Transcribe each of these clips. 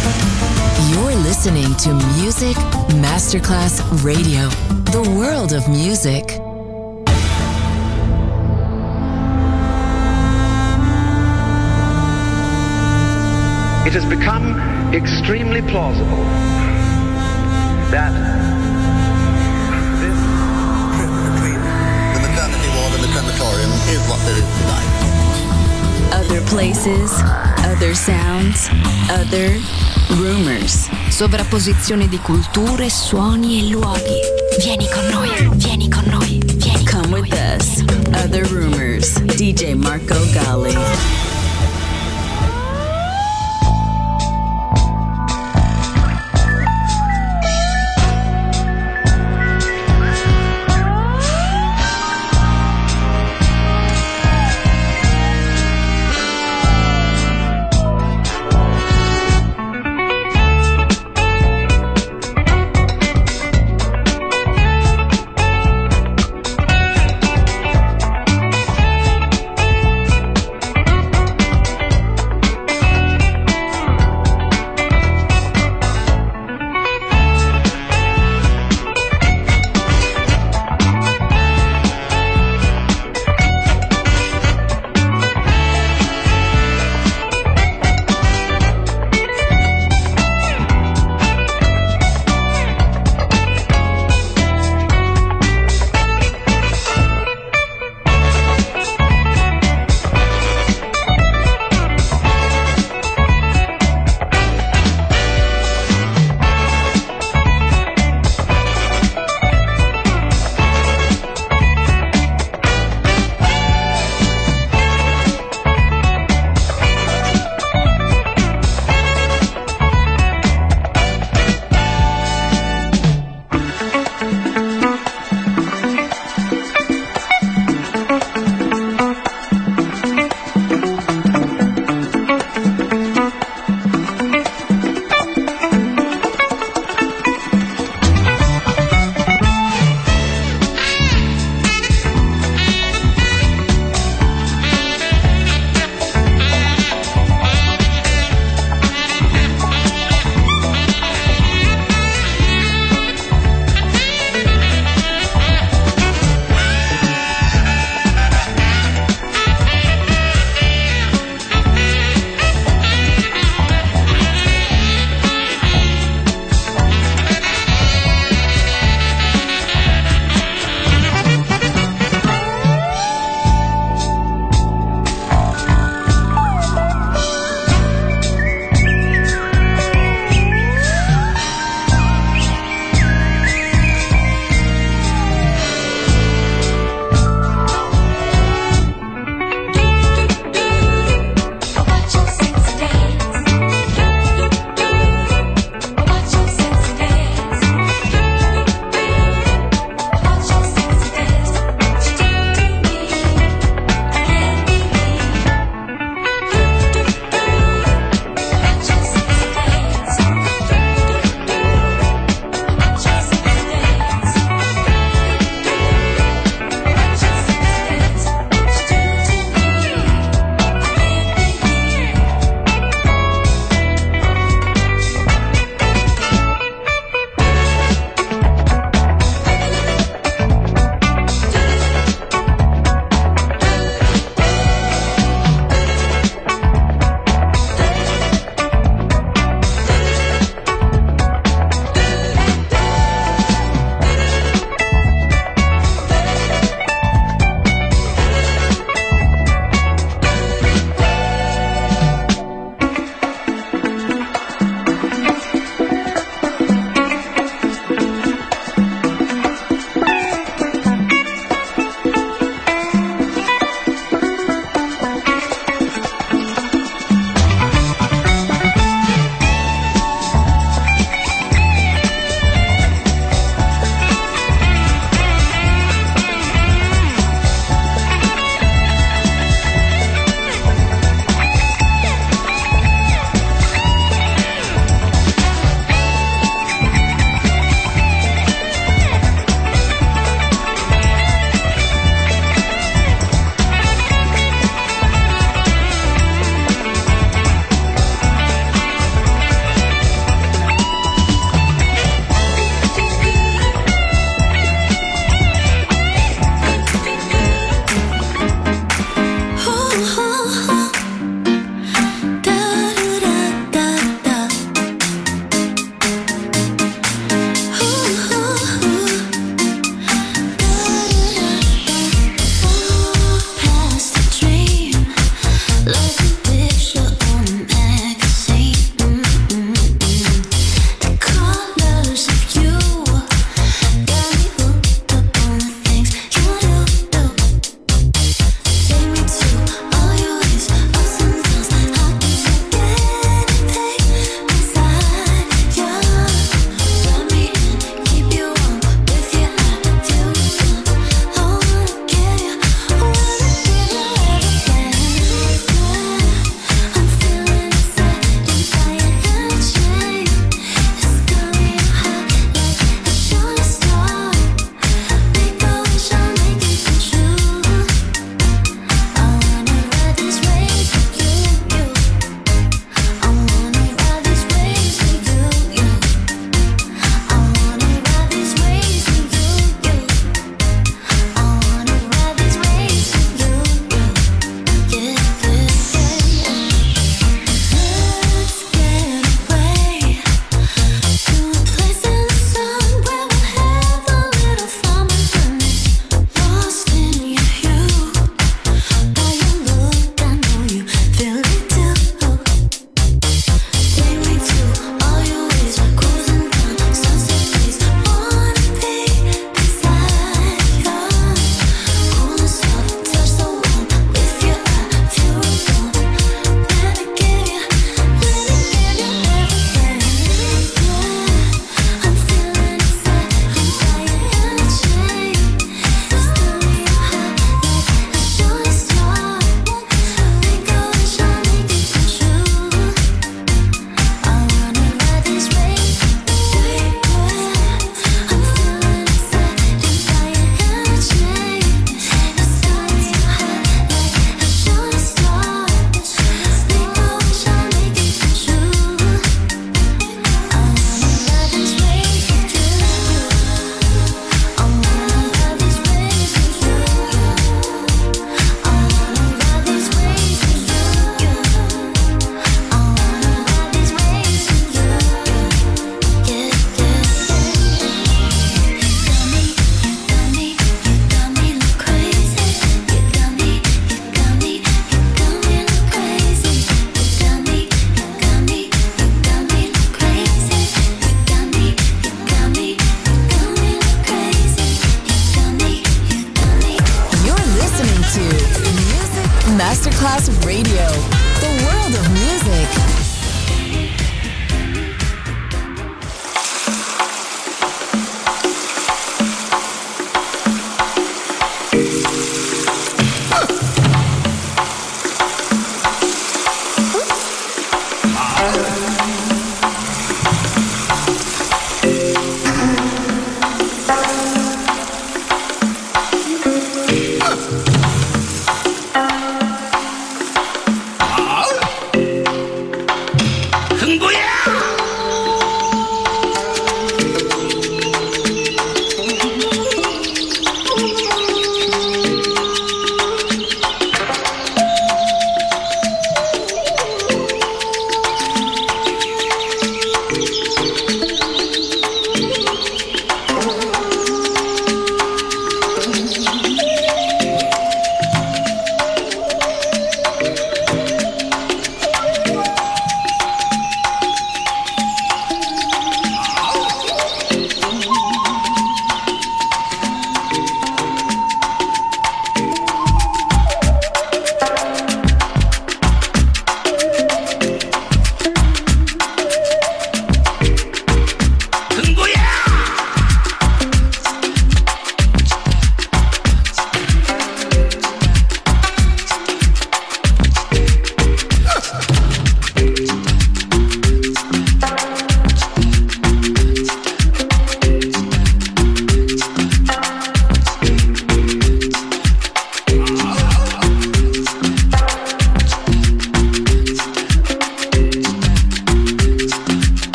You're listening to Music Masterclass Radio, the world of music. It has become extremely plausible that this trip between the maternity ward and the crematorium is what there is tonight. Other places, other sounds, other rumors. Sovrapposizione di culture, suoni e luoghi. Vieni con noi, vieni con noi, vieni con Come noi. with us. Other rumors. DJ Marco Gally.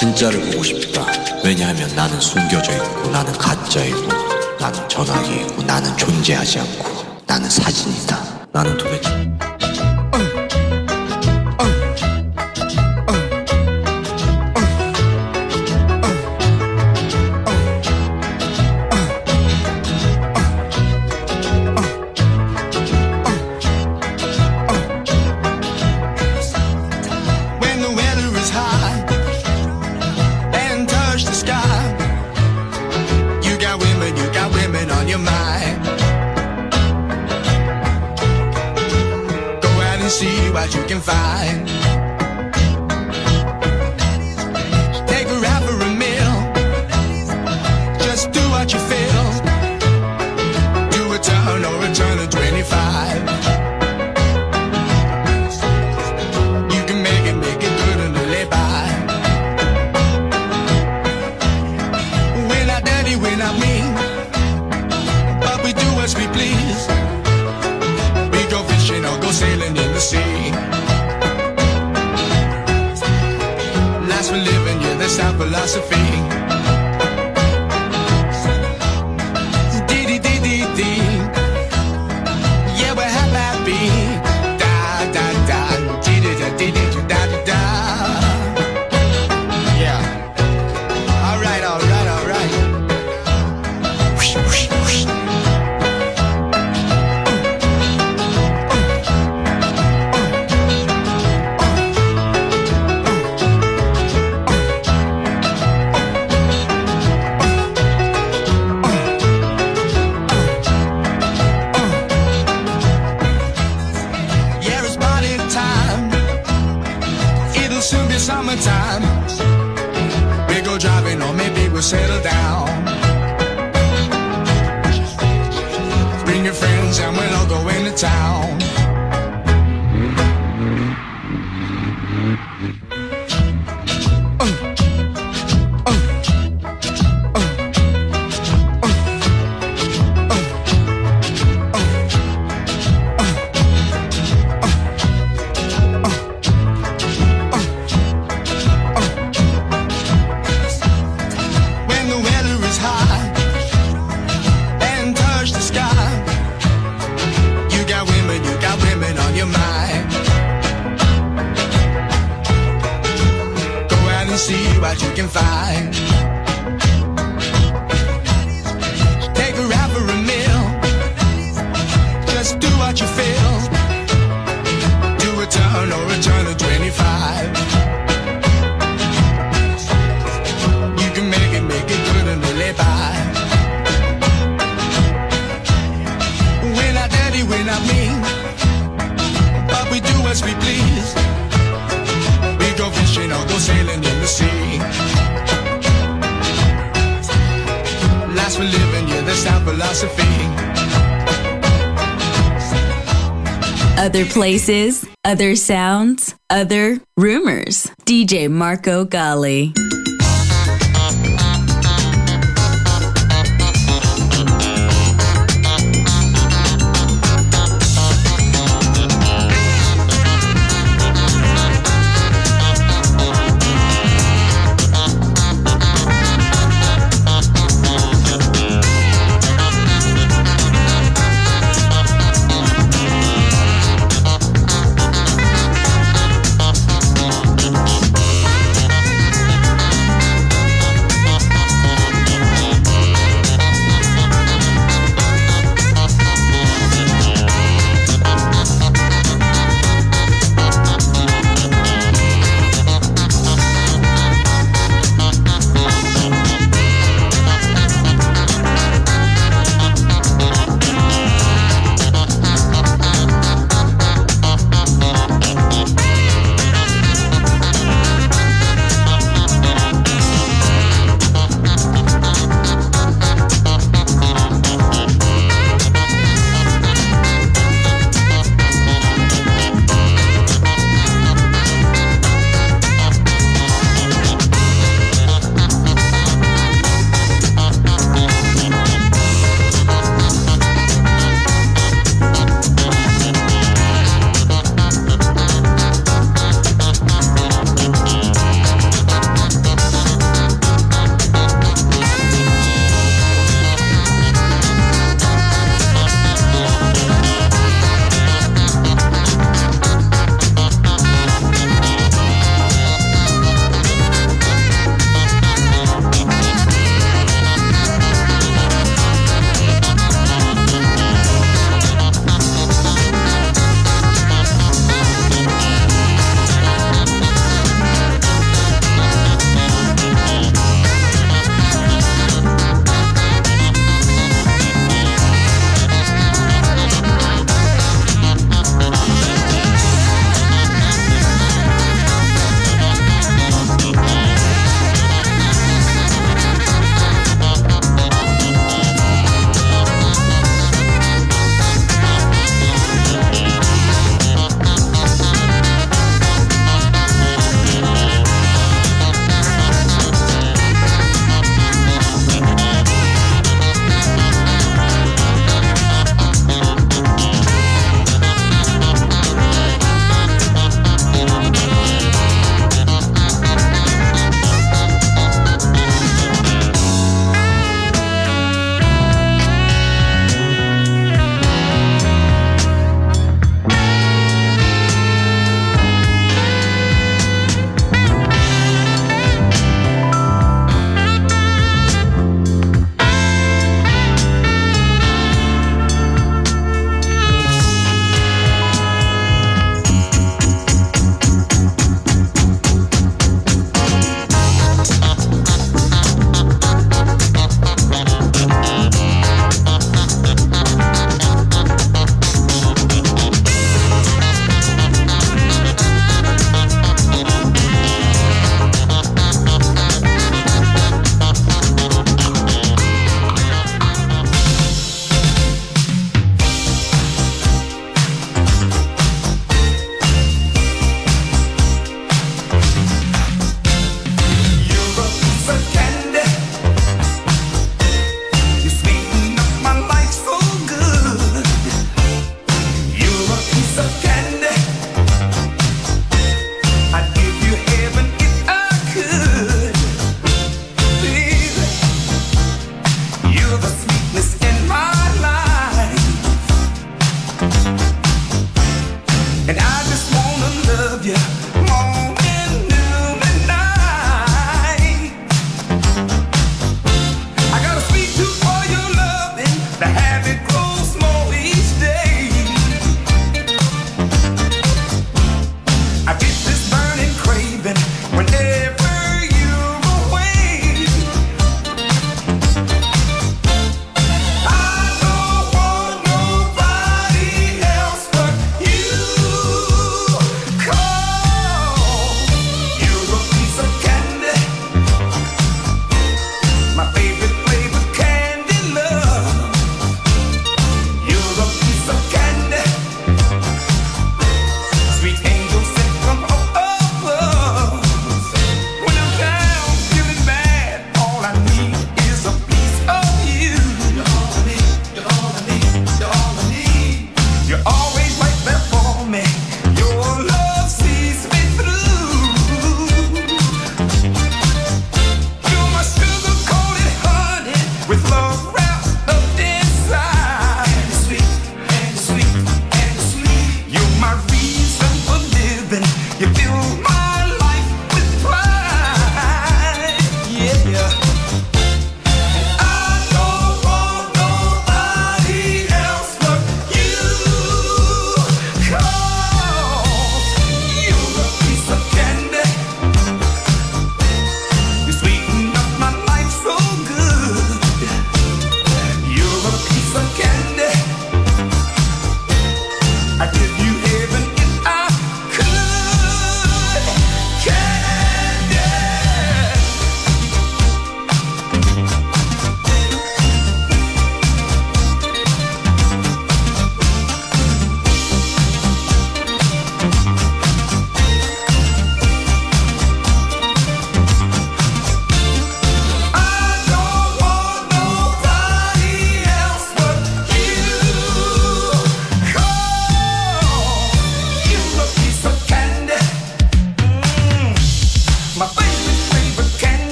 진짜를 보고 싶다. 왜냐하면 나는 숨겨져 있고 나는 가짜이고 나는 전화기이고 나는 존재하지 않고 나는 사진이다. 나는 도대체 what you can find. Take her out for a meal. Just do what you feel. Do a turn or a turn of 25. You can make it good and live by. We're not dirty, we're not mean, but we do as we please. We go fishing or go sailing in the sea. Last for living, yeah, that's our philosophy. Dee-dee-dee-dee-dee. Yeah, we're happy. Da-da-da. Dee-dee-da-dee-dee-da-da-da. Yeah. All right, all right, all right. Whoosh, whoosh, whoosh. Summertime, we go driving or maybe we'll settle down. Bring your friends and we'll all go into town. See what you can find. Take her out for a meal. Just do what you feel. Do a turn or a turn of 25. You can make it good and live by. We're not dirty, we're not mean, but we do as we please. We go fishing or go sailing in the sea. Last for living, yeah, that's our philosophy. Other places, other sounds, other rumors. DJ Marco Gally.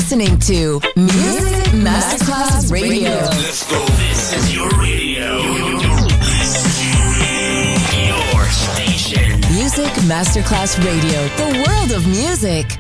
listening to Music Masterclass Radio. Let's go. This is your radio. Your station. Music Masterclass Radio. The world of music.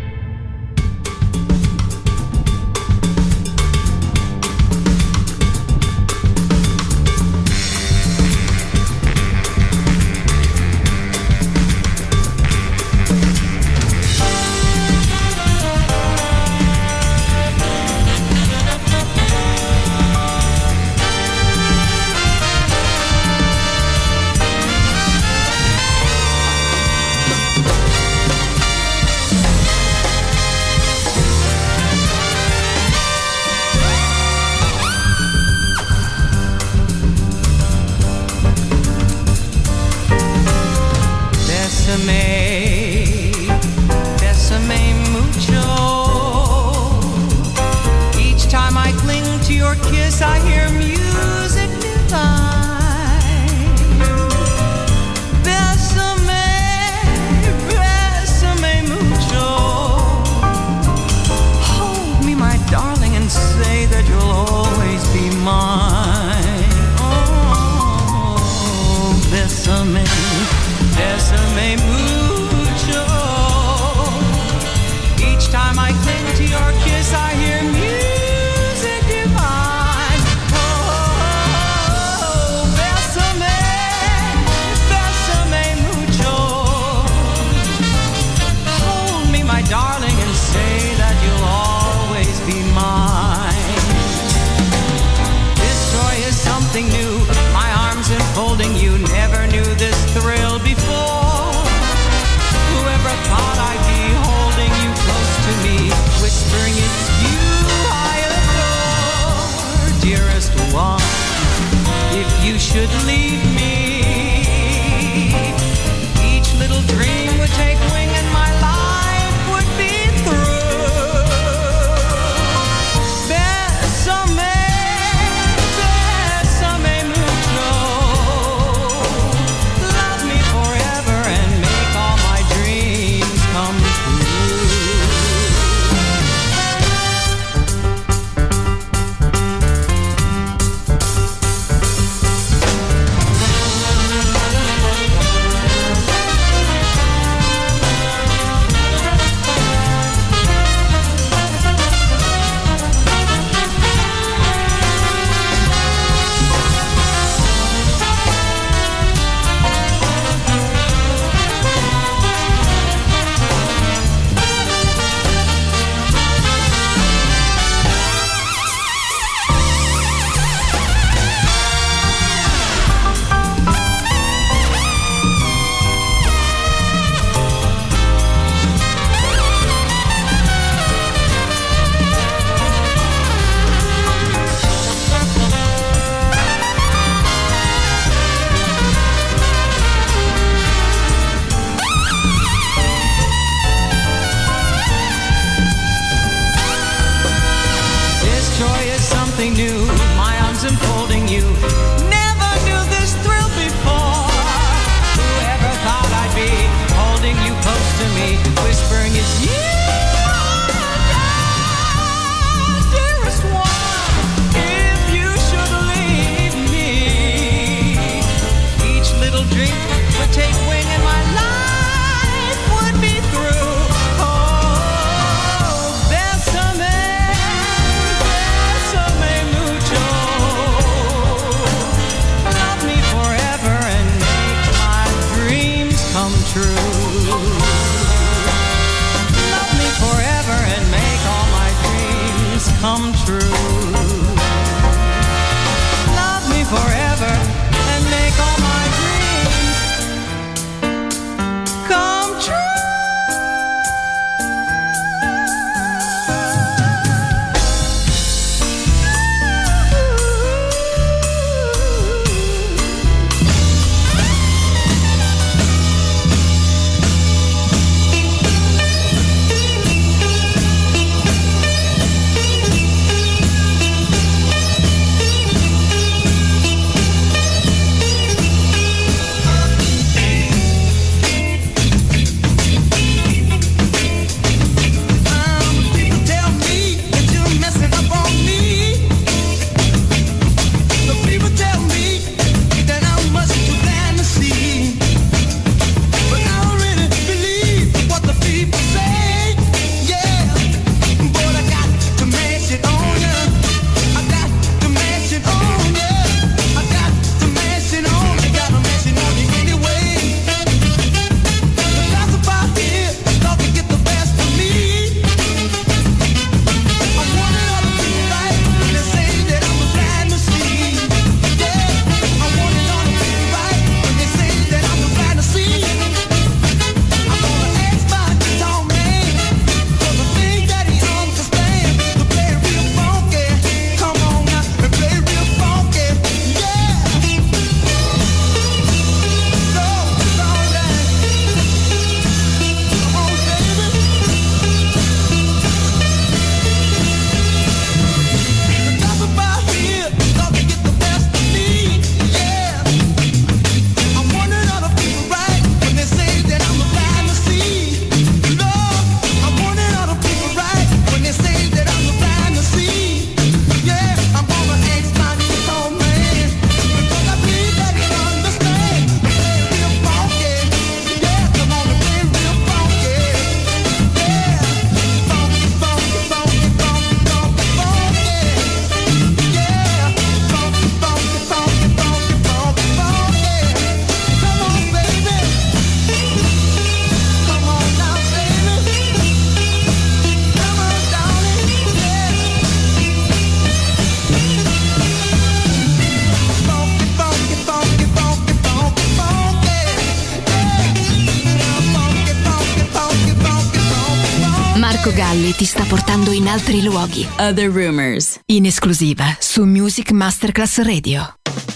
Marco Galli ti sta portando in altri luoghi. Other Rumors, In esclusiva su Music Masterclass Radio.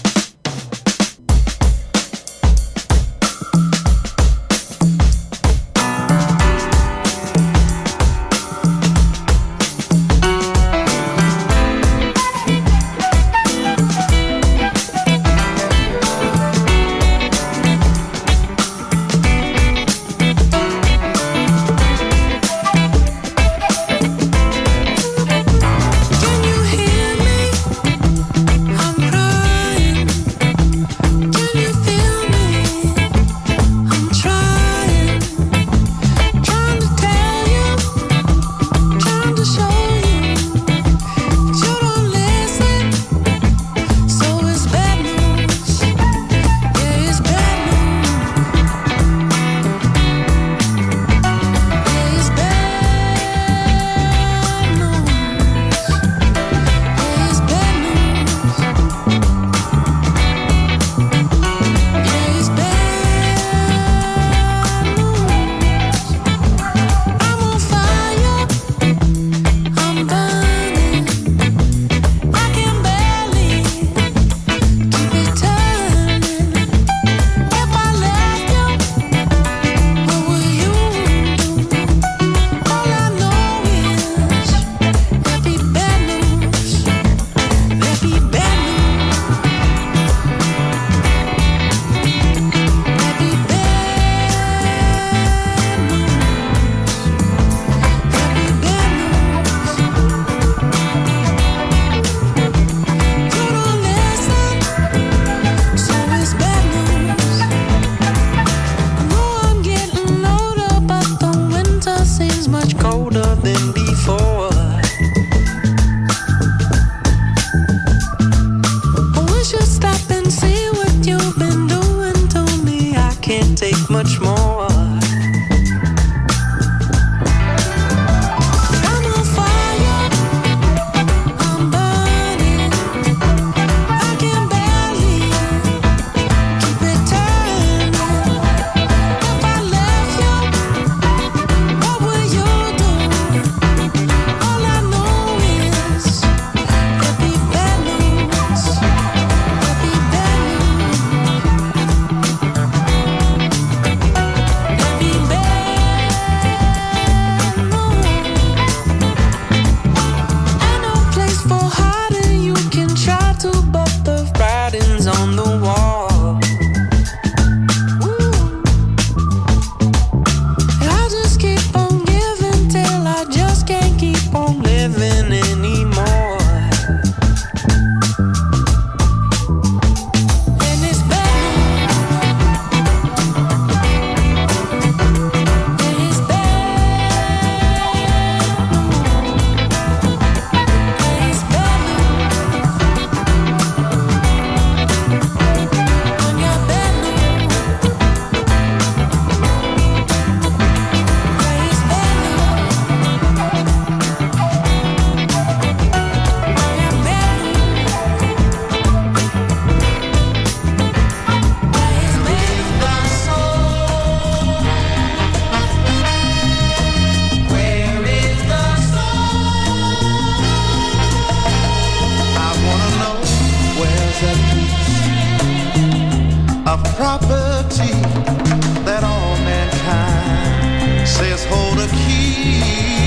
Can you hear me? I'm crying. property that all mankind says hold a key.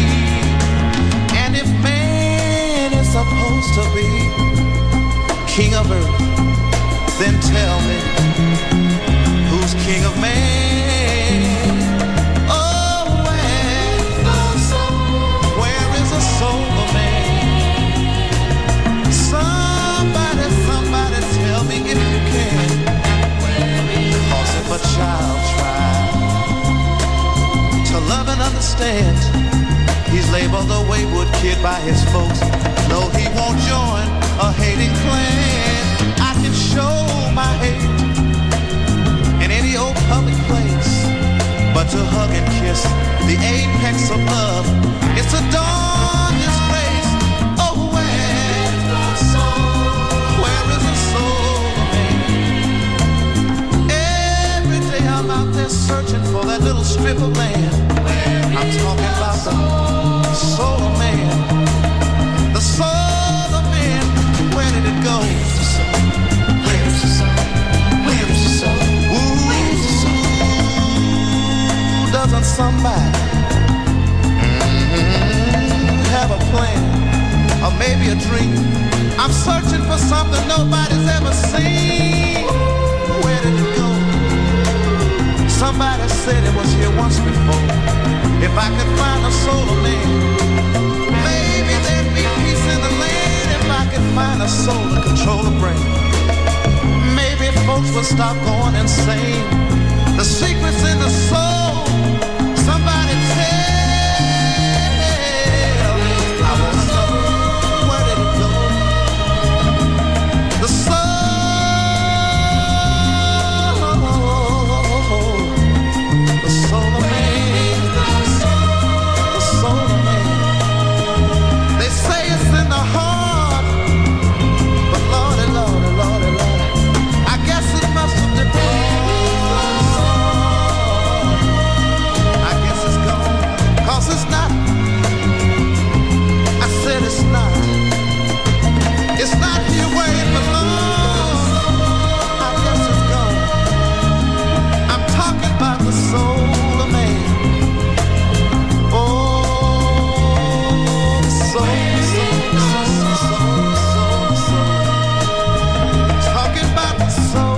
And if man is supposed to be king of earth, then tell me, who's king of man? Oh, where is the soul of man? Somebody tell me if you can. Cause if a child tries to love and understand, he's labeled a wayward kid by his folks. No, he won't join a hating clan. I can show my hate in any old public place, but to hug and kiss the apex of love, it's a dawn disgrace. Oh, where is the soul of man? Every day I'm out there searching for that little strip of land. I'm talking about the soul of man. The soul of man, where did it go? Where's the soul? Where's the soul? Where's the soul? Ooh, doesn't somebody have a plan or maybe a dream? I'm searching for something nobody's ever seen. Where did it go? Somebody said it was here once before. If I could find a soul of man, maybe there'd be peace in the land. If I could find a soul to control the brain, maybe folks would stop going insane. The secret's in the soul. Somebody tell me. I wanna know, where did it go? The soul. It's not here where it belongs. I guess it's gone. I'm talking about the soul of man. Oh, the soul, soul. Talking about the soul.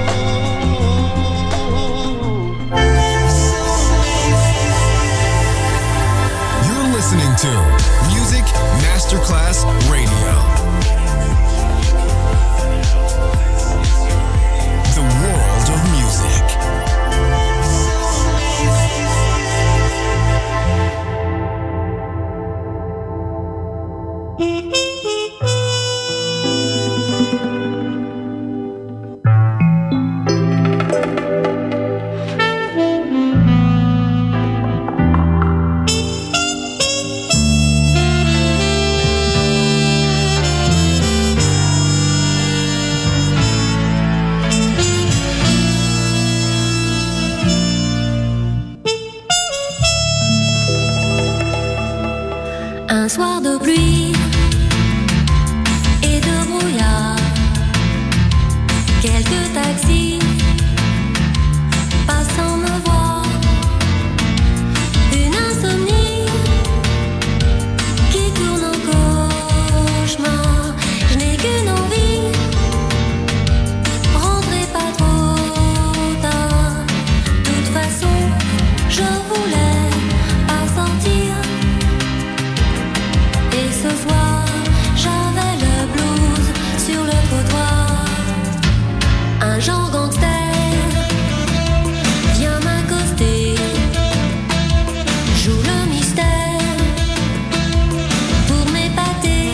You're listening to Music Masterclass Radio. World of music. Un soir de pluie et de brouillard, quelques taxis passant me voir, une insomnie qui tourne en cauchemar. Je n'ai qu'une envie, rentrez pas trop tard. De toute façon, je voulais pas sortir. Et ce soir, j'avais le blues sur le trottoir. Un genre gangster vient m'accoster, joue le mystère pour m'épater.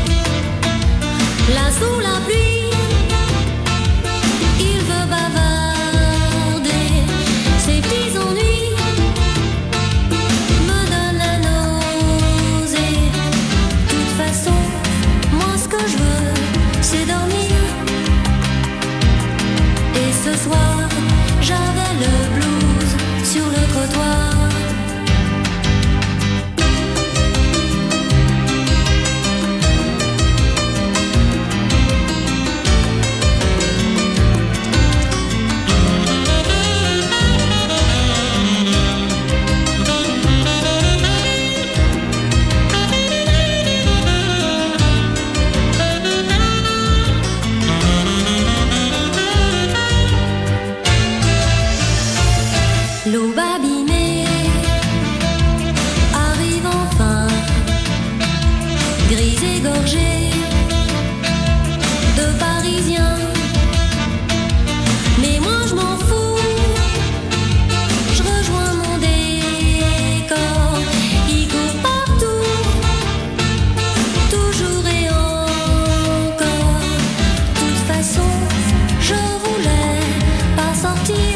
Là sous la pluie, il veut bavarder. Ses petits ennuis me donnent la nausée. De toute façon, moi ce que je veux, c'est dormir. Et ce soir, j'avais le blues sur le trottoir. L'aube abîmée arrive enfin, grise égorgée de Parisiens. Mais moi je m'en fous, je rejoins mon décor. Il court partout, toujours et encore. De toute façon, je voulais pas sortir.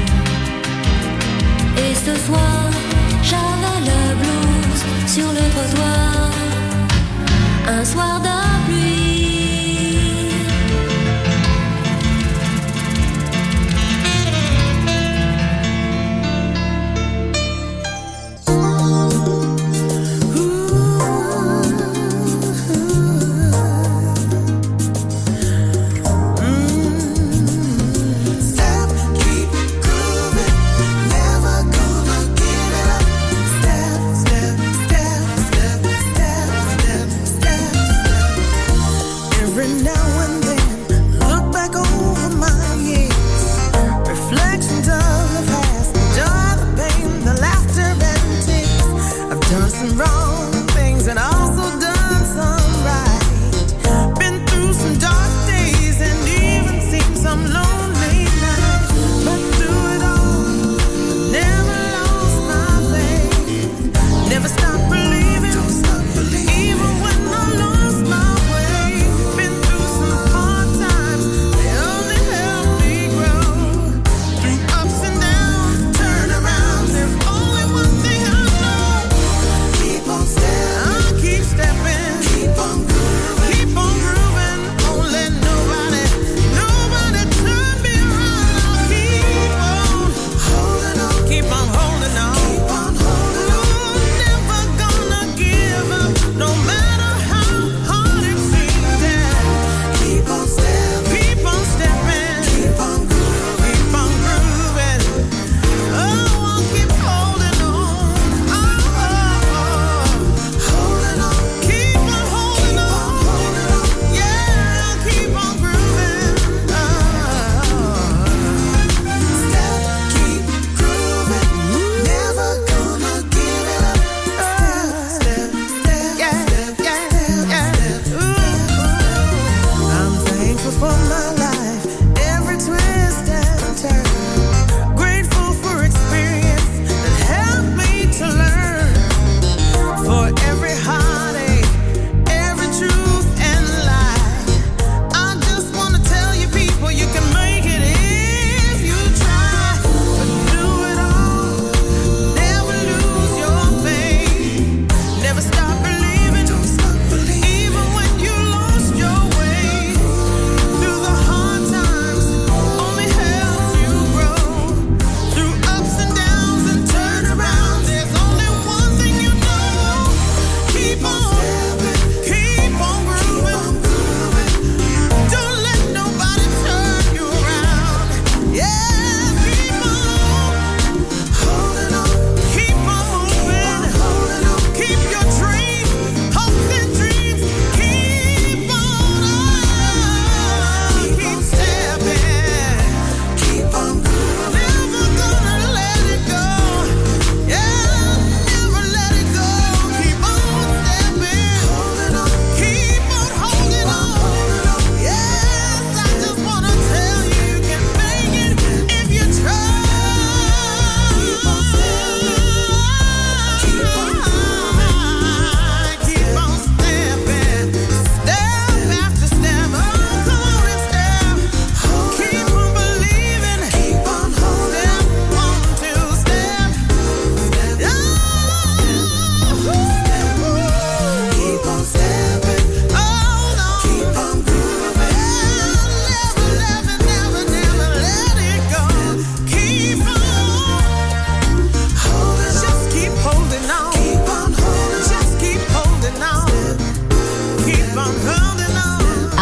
Et ce soir, j'avais le blues sur le trottoir. Un soir de pluie. Ooh.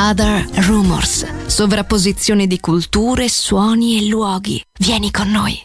Other Rumors, sovrapposizione di culture, suoni e luoghi. Vieni con noi.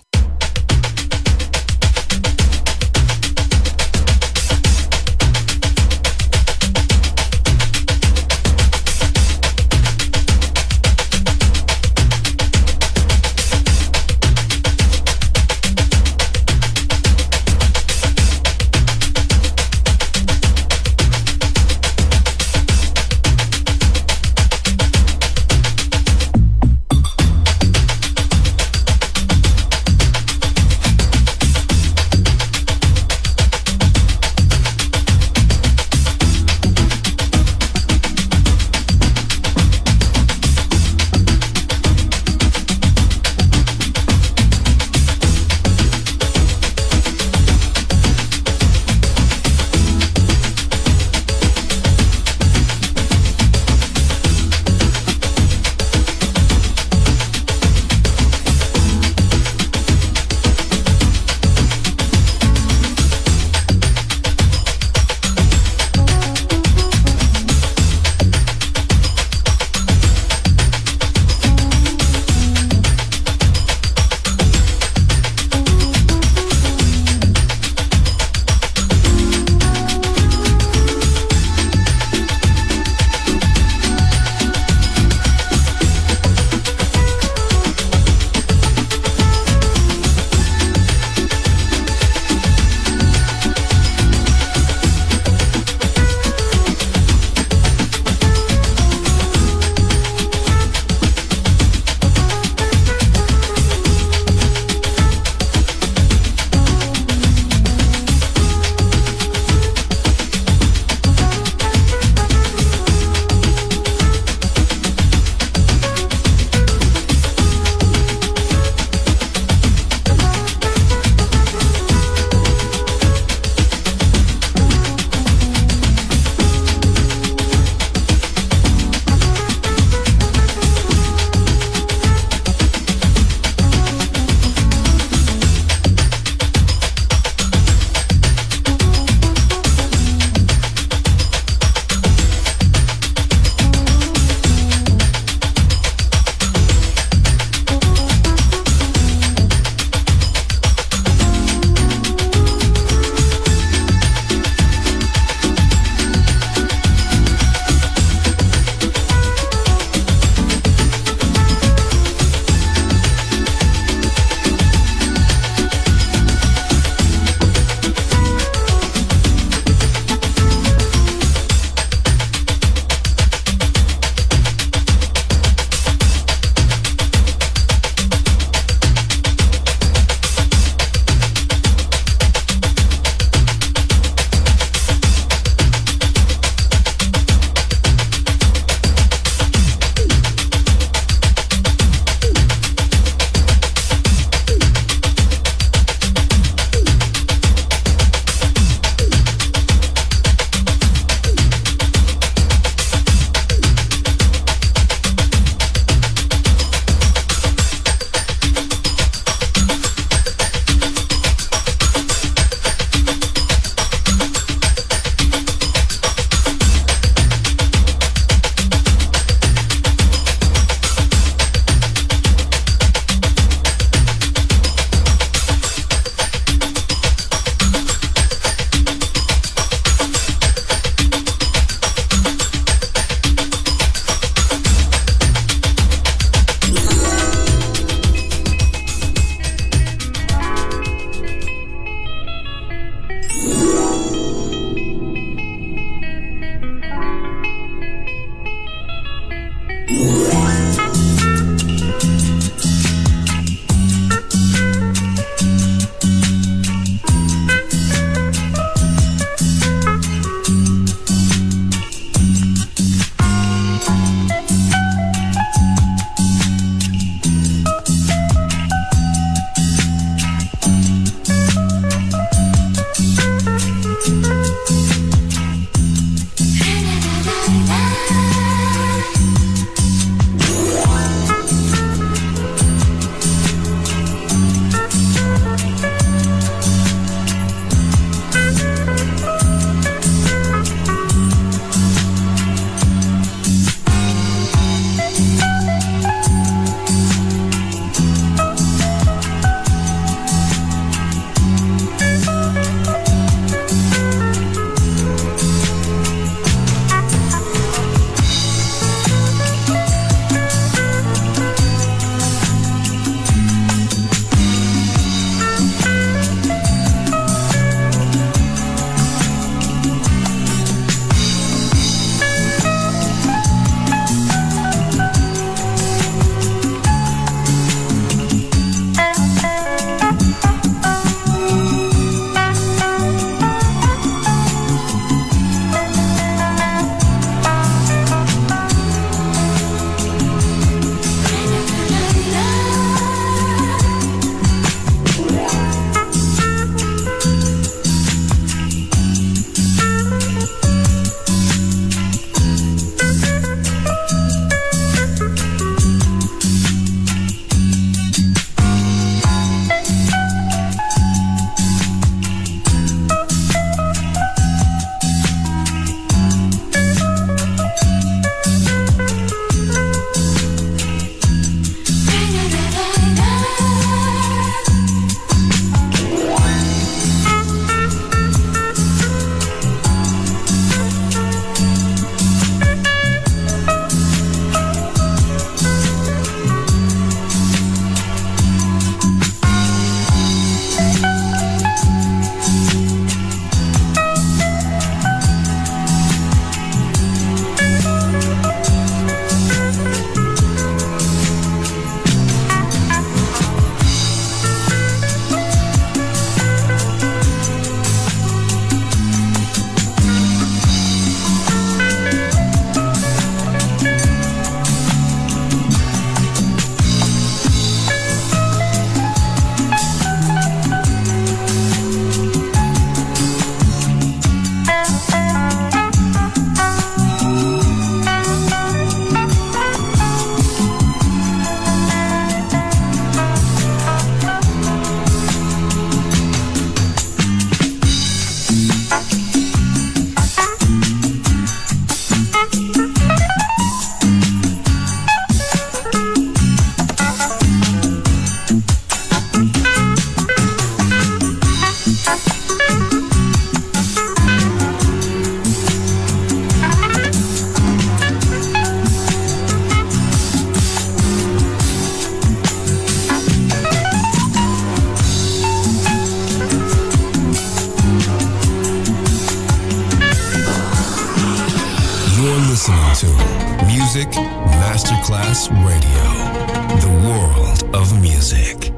Listening to Music Masterclass Radio, the world of music.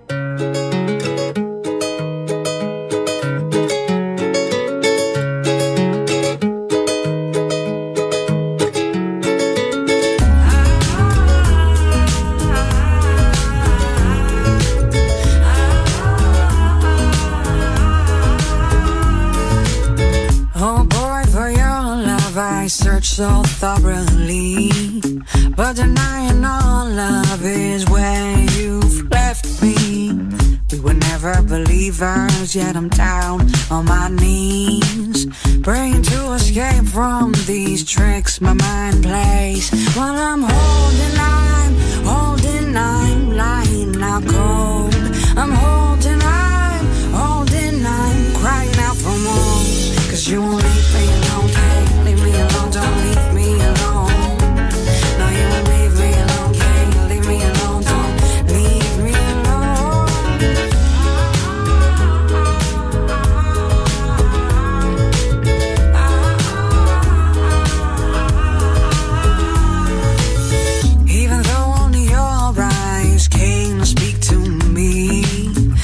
So thoroughly, but denying all love is where you've left me. We were never believers, yet I'm down on my knees, praying to escape from these tricks my mind plays. While I'm lying out cold. I'm crying out for more. 'Cause you won't leave me alone, can't leave me alone, don't leave me alone. No, you won't leave me alone, can't leave me alone, don't leave me alone. Even though only your eyes came to speak to me,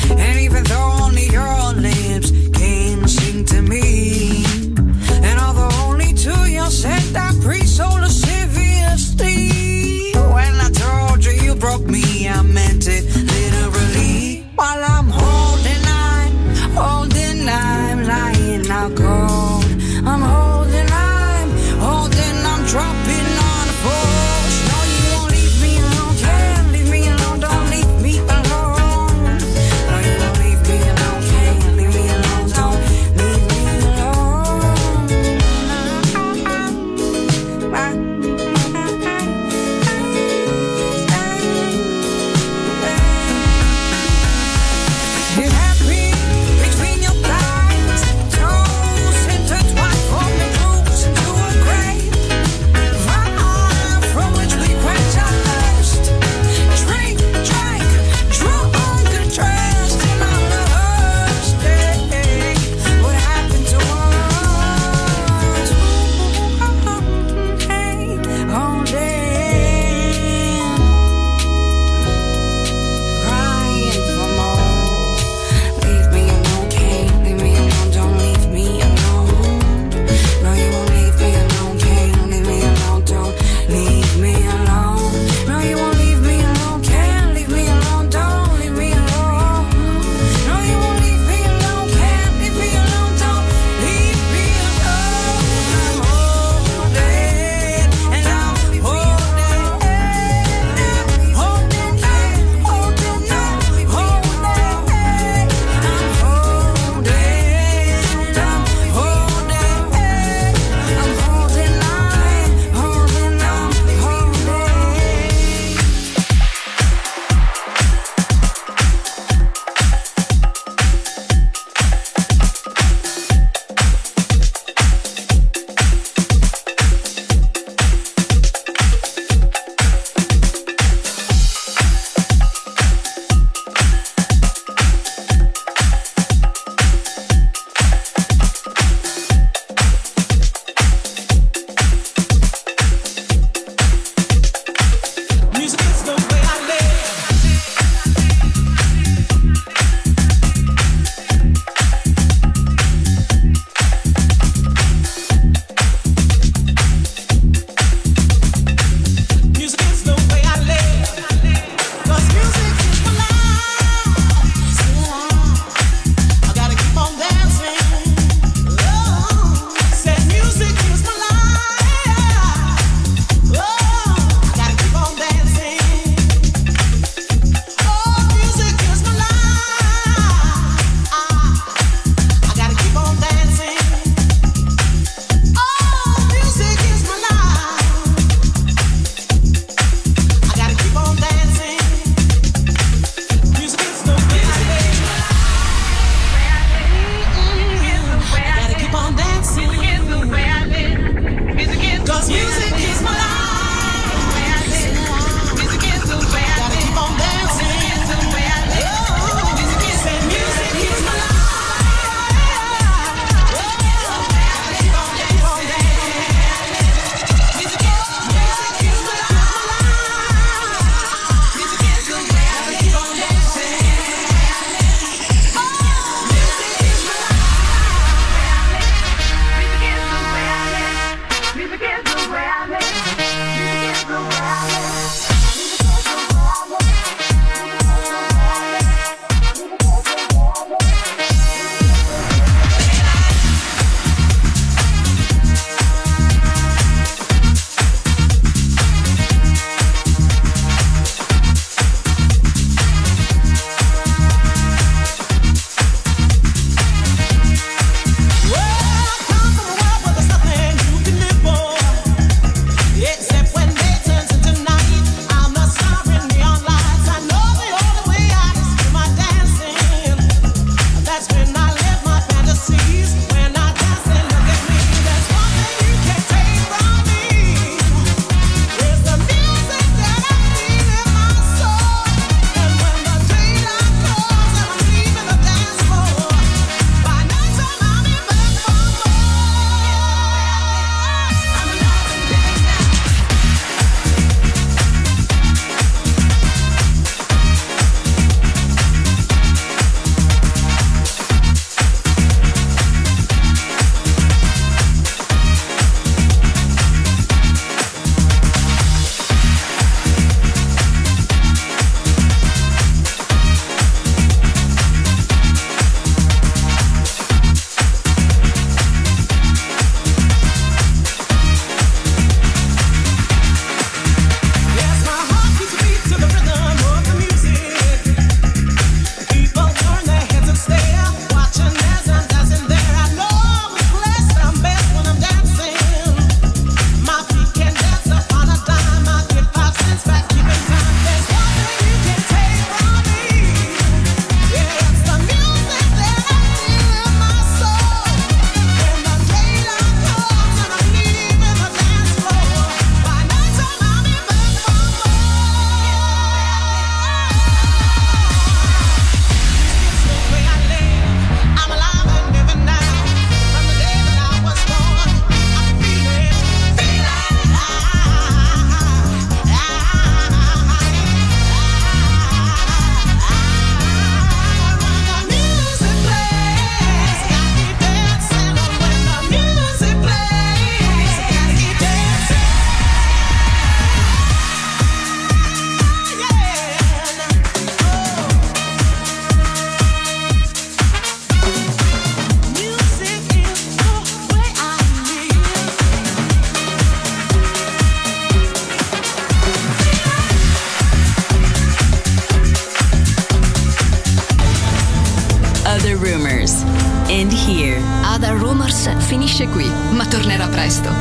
here. Other Rumors finisce qui, ma tornerà presto.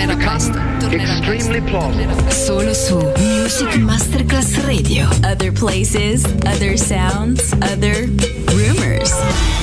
Solo su Music Masterclass Radio. Other places, other sounds, other rumors.